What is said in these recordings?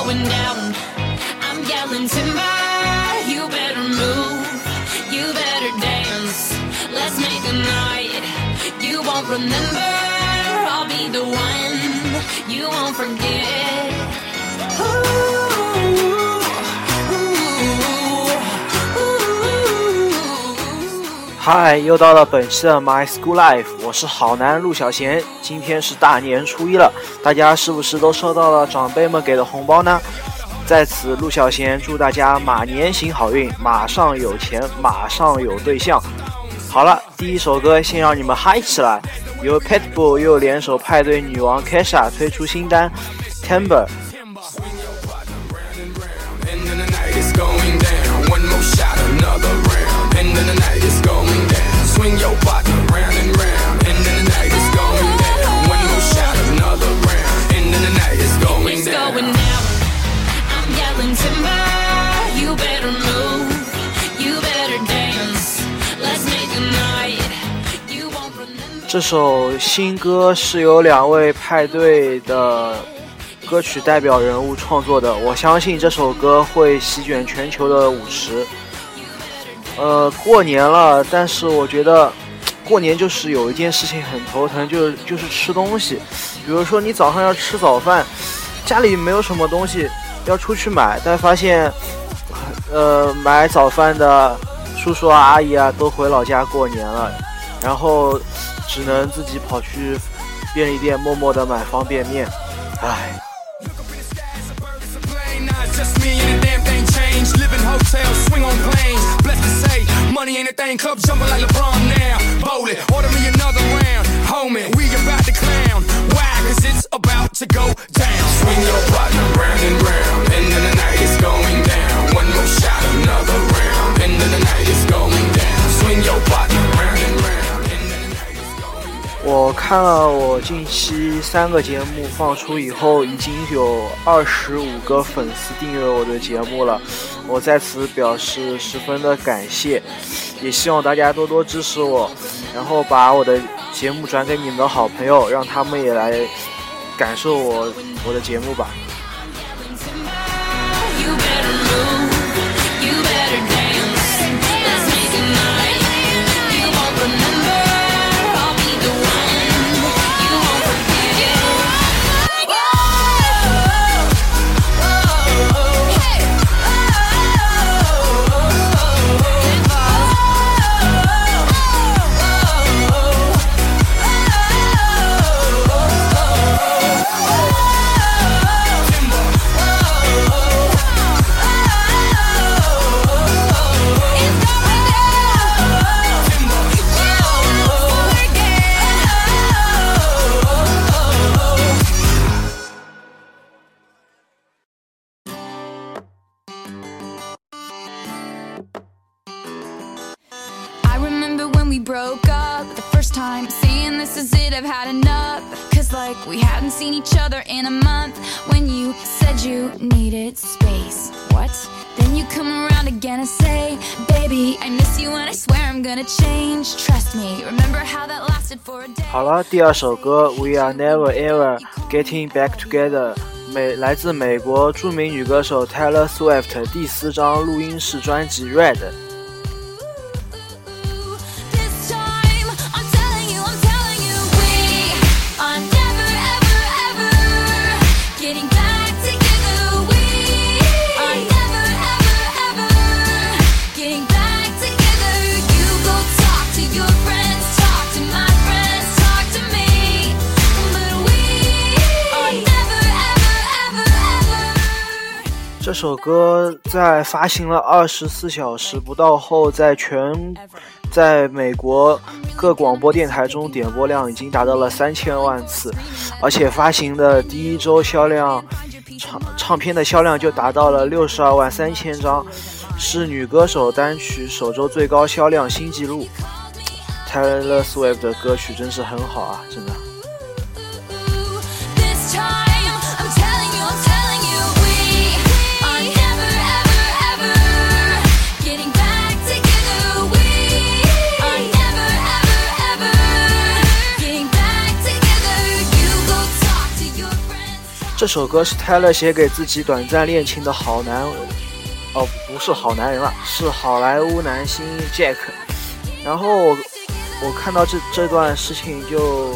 going down. I'm yelling timber, you better move, you better dance. Let's make a night you won't remember. I'll be the one you won't forget. 嗨，又到了本期的 My School Life， 我是好男陆小贤。今天是大年初一了，大家是不是都收到了长辈们给的红包呢？在此，陆小贤祝大家马年行好运，马上有钱，马上有对象。好了，第一首歌先让你们嗨起来，由 Pitbull 又联手派对女王 Kesha 推出新单 Timber。Swing your partner round and round, and then the night is going down. One more shot, another round, and then the night is going down. It's going down. I'm yelling timber, you better move, you better dance. Let's make a night you won't remember. 这首新歌是由两位派对的歌曲代表人物创作的，我相信这首歌会席卷全球的舞池。过年了，但是我觉得过年就是有一件事情很头疼，就是吃东西。比如说你早上要吃早饭，家里没有什么东西，要出去买，但发现买早饭的叔叔啊阿姨啊都回老家过年了，然后只能自己跑去便利店默默的买方便面。唉。 Living hotels, swing on planes. Blessed to say, money ain't a thing. Club jumping like LeBron now. Bowl it, order me another round. Homie, we about to clown. Why? Cause it's about to go down. Swing your partner round and round, and then the night is going down. One more shot, another round, and then the night is going down. Swing your partner round and round, and then the night is going down. 我看了我近期3个节目放出以后，已经有25个粉丝订阅我的节目了，我在此表示十分的感谢，也希望大家多多支持我，然后把我的节目转给你们的好朋友，让他们也来感受我的节目吧。 We broke up the first time, saying this is it, I've had enough. Cause like we hadn't seen each other in a month. When you said you needed space, what? Then you come around again and say, baby, I miss you and I swear I'm gonna change. Trust me, remember how that lasted for a day. 好了，第二首歌 We Are Never Ever Getting Back Together 来自美国著名女歌手 Taylor Swift 第4张录音室专辑 Red。这首歌在发行了24小时不到后，在美国各广播电台中点播量已经达到了3000万次，而且发行的第一周销量唱片的销量就达到了62万3000张，是女歌手单曲首周最高销量新纪录。Taylor Swift 的歌曲真是很好啊，真的。 这首歌是 Taylor 写给自己短暂恋情的不是好男人了，是好莱坞男星 Jack。然后我看到这段事情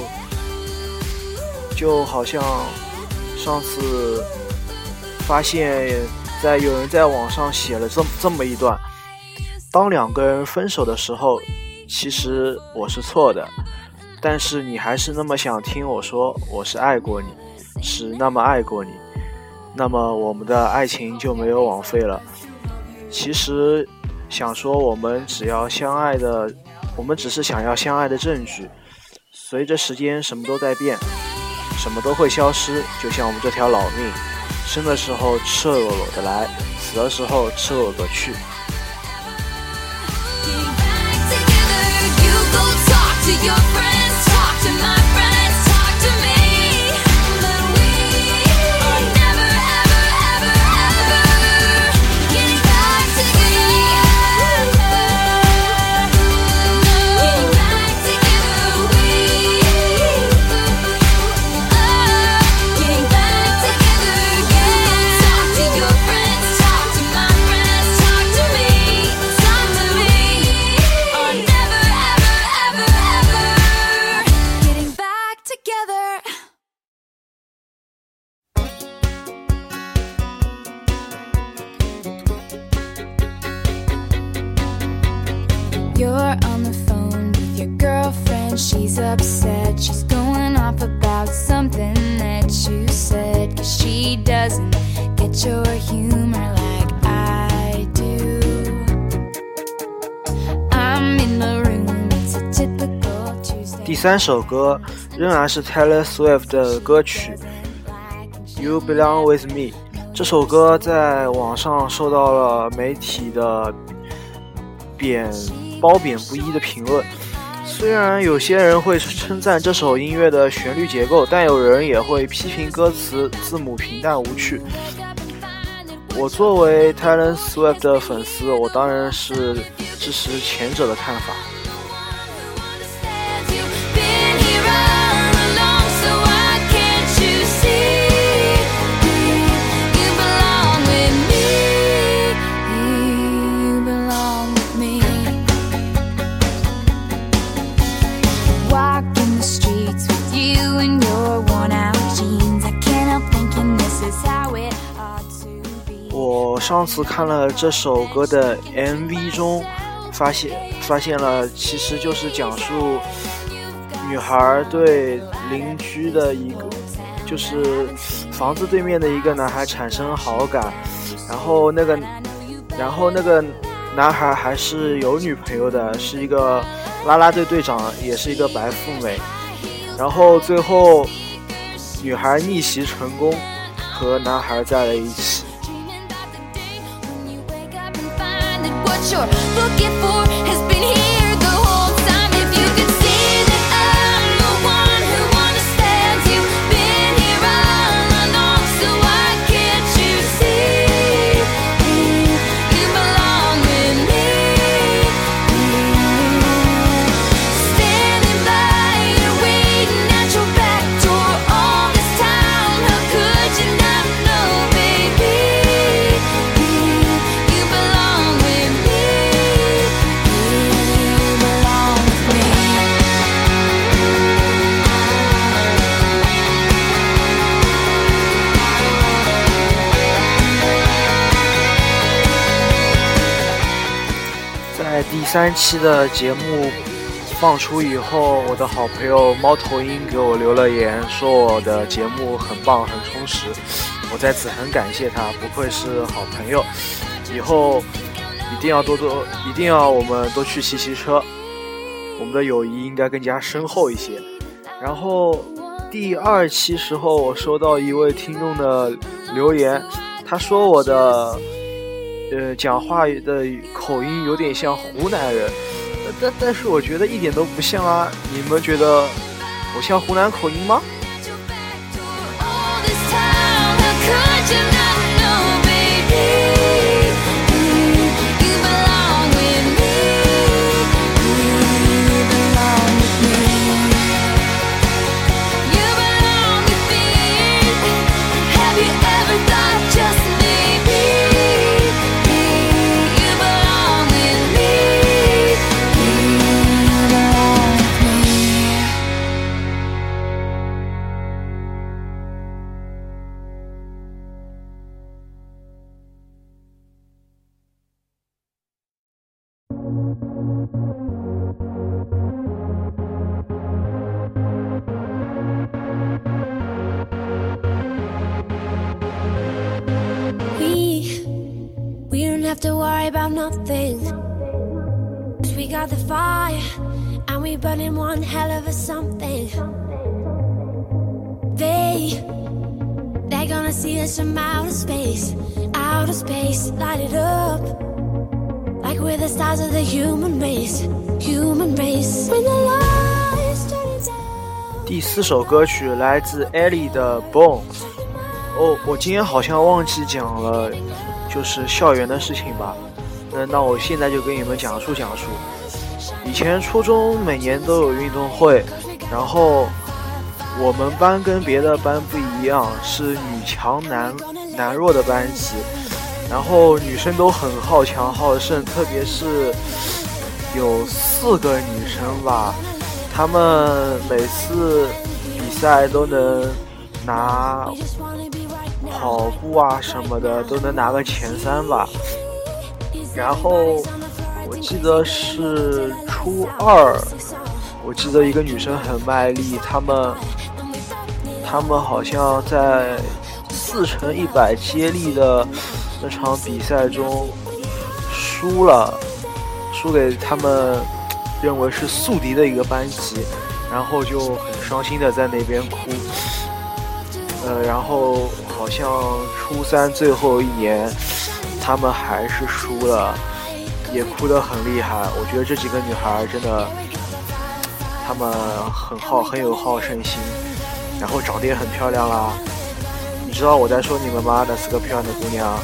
就好像上次发现有人在网上写了这么一段：当两个人分手的时候，其实我是错的，但是你还是那么想听我说我是爱过你，是那么爱过你，那么我们的爱情就没有枉费了。其实想说我们只是想要相爱的证据。随着时间什么都在变，什么都会消失，就像我们这条老命，生的时候赤裸裸的来，死的时候赤裸裸的去。 You're on the phone with your girlfriend. She's upset. She's going off about something that you said. 'Cause she doesn't get your humor like I do. I'm in the room. It's a typical Tuesday. 第三首歌仍然是 Taylor Swift 的歌曲 You Belong With Me。 这首歌在网上受到了媒体的褒贬不一的评论。虽然有些人会称赞这首音乐的旋律结构，但有人也会批评歌词字母平淡无趣。我作为 Taylor Swift 的粉丝，我当然是支持前者的看法。我上次看了这首歌的 MV 中发现了，其实就是讲述女孩对邻居的就是房子对面的一个男孩产生好感，然后那个男孩还是有女朋友的，是一个啦啦队队长，也是一个白富美。然后最后女孩逆袭成功，和男孩在了一起。第3期的节目放出以后，我的好朋友猫头鹰给我留了言，说我的节目很棒很充实，我在此很感谢他，不愧是好朋友，以后一定要我们多去骑车，我们的友谊应该更加深厚一些。然后第2期时候，我收到一位听众的留言，他说我的讲话的口音有点像湖南人，但是我觉得一点都不像啊！你们觉得我像湖南口音吗？ have to worry about nothing. 'Cause we got the fire, and we burning one hell of a something. They're gonna see us from outer space, light it up like we're the stars of the human race. When the lights turn down. 第4首歌曲来自 Ellie 的 Bones。我今天好像忘记讲了，就是校园的事情吧。那我现在就跟你们讲述。以前初中每年都有运动会，然后我们班跟别的班不一样，是女强男弱的班级，然后女生都很好强好胜，特别是有4个女生吧，她们每次比赛都能拿跑步啊什么的都能拿个前3吧。然后我记得是初2，我记得一个女生很卖力，她们好像在4×100接力的那场比赛中输给他们认为是宿敌的一个班级，然后就很伤心的在那边哭。然后好像初3最后一年他们还是输了，也哭得很厉害。我觉得这几个女孩真的，她们很有好胜心，然后长得也很漂亮啦。你知道我在说你们吗？那4个漂亮的姑娘。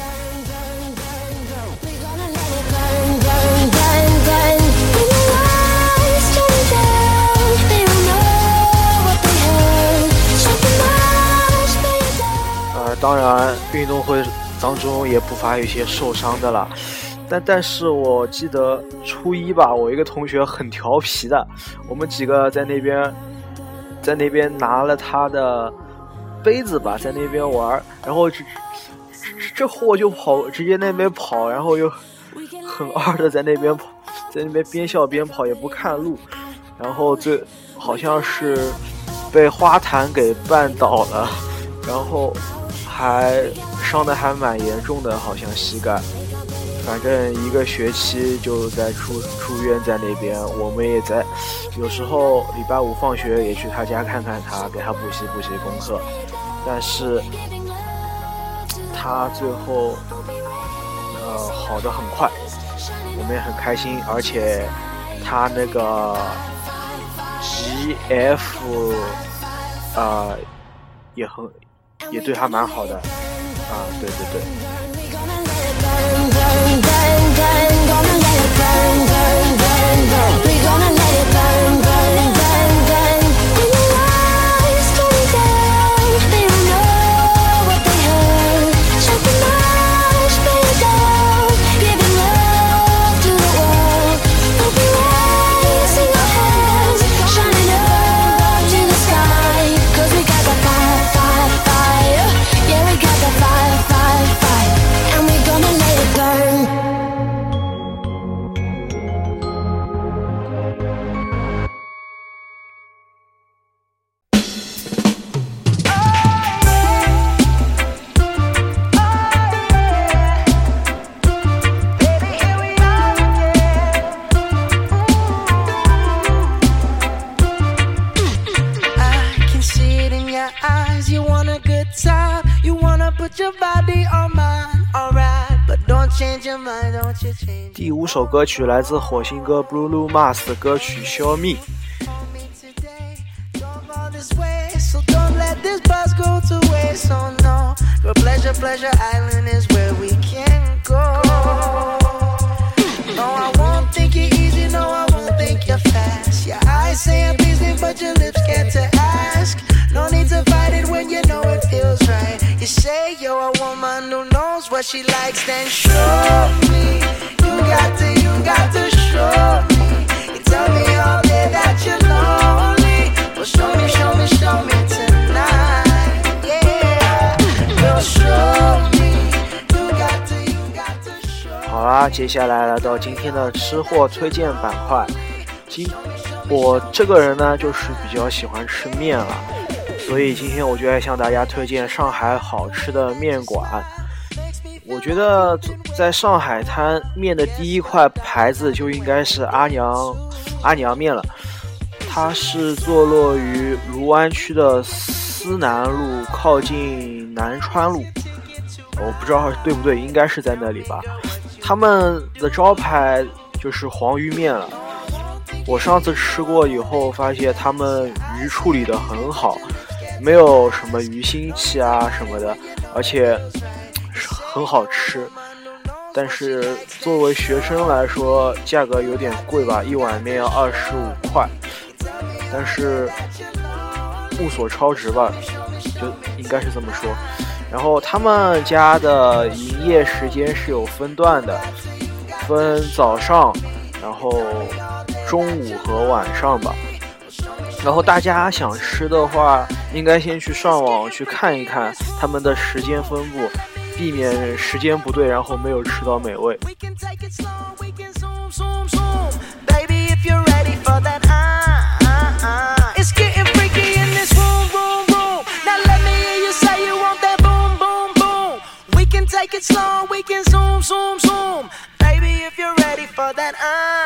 当然运动会当中也不乏有一些受伤的啦，但是我记得初1吧，我一个同学很调皮的，我们几个在那边拿了他的杯子吧，在那边玩，然后这货就直接那边跑，然后又很二的在那边跑，在那边边笑边跑也不看路，然后好像是被花坛给绊倒了，然后还伤得还蛮严重的，好像膝盖，反正1个学期就在住院在那边。我们也在有时候礼拜5放学也去他家看看他，给他补习功课，但是他最后好得很快，我们也很开心，而且他那个 GF 也对他蛮好的啊，对。第5首歌曲来自火星哥 Bruno Mars 的歌曲 Show Me。 No need to fight it when you know it feels right. You say you're a woman who knows what she likes, then show me. You got to show me. You tell me all day that you're lonely. Well, show me tonight. Yeah, well, show me. You got to show me. 好啦，接下来来到今天的吃货推荐板块。我这个人呢，就是比较喜欢吃面了。所以今天我就来向大家推荐上海好吃的面馆。我觉得在上海滩面的第一块牌子就应该是阿娘面了。它是坐落于卢湾区的思南路，靠近南川路，我不知道对不对，应该是在那里吧。他们的招牌就是黄鱼面了。我上次吃过以后发现他们鱼处理得很好，没有什么鱼腥气啊什么的，而且很好吃。但是作为学生来说价格有点贵吧，一碗面要25块，但是物所超值吧，就应该是这么说。然后他们家的营业时间是有分段的，分早上，然后中午和晚上吧。然后大家想吃的话，应该先去上网去看一看他们的时间分布，避免时间不对，然后没有吃到美味。 Take it slow, we can zoom, zoom, zoom. Baby, if you're ready for that,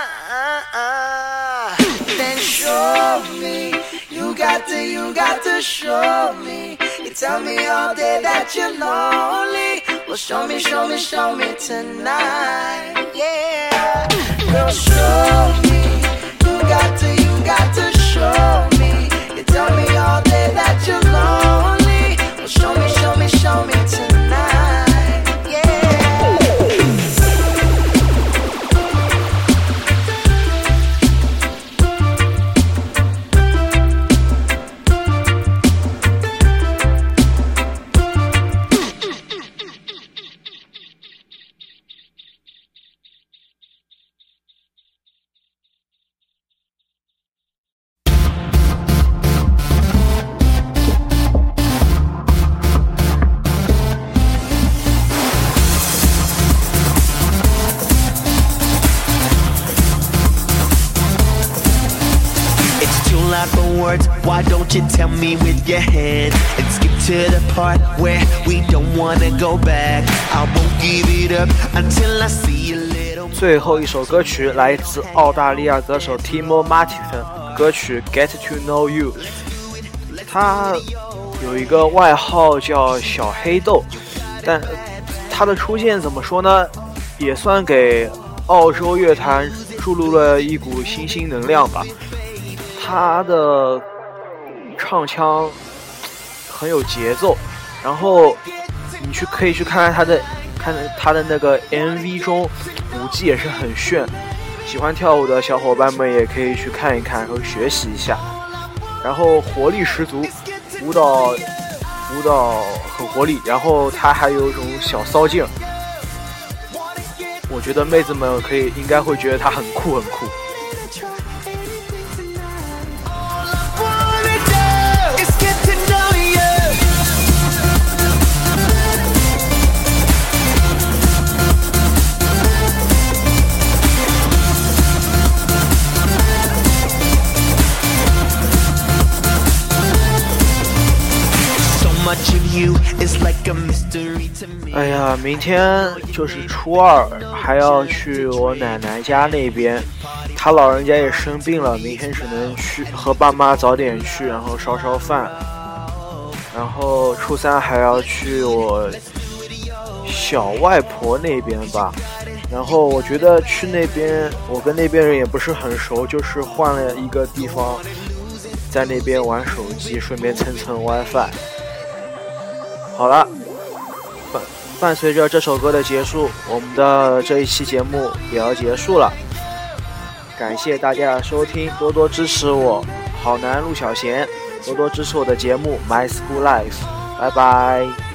then show me. You got to show me. You tell me all day that you're lonely. Well, show me, show me, show me tonight. Yeah, girl, show me. You got to show me. You tell me all day that you're lonely. Well, show me, show me, show me tonight. ，Why don't you tell me with your hand and skip to the part where we don't wanna go back? I won't give it up until I see a little. 最后一首歌曲来自澳大利亚歌手 Timo Martin， 歌曲 Get to Know You。他有一个外号叫小黑豆，但他的出现怎么说呢，也算给澳洲乐坛注入了一股新能量吧。他的唱腔很有节奏，然后你可以去看他的那个 MV 中舞技也是很炫，喜欢跳舞的小伙伴们也可以去看一看和学习一下，然后活力十足，舞蹈很活力，然后他还有一种小骚劲儿，我觉得妹子们应该会觉得他很酷。哎呀，明天就是初二，还要去我奶奶家那边，她老人家也生病了，明天只能去和爸妈早点去，然后烧饭，然后初三还要去我小外婆那边吧。然后我觉得去那边，我跟那边人也不是很熟，就是换了一个地方，在那边玩手机，顺便蹭 WiFi。好了，伴随着这首歌的结束，我们的这一期节目也要结束了。感谢大家的收听，多多支持我，好男陆小贤，多多支持我的节目 My School Life， 拜拜。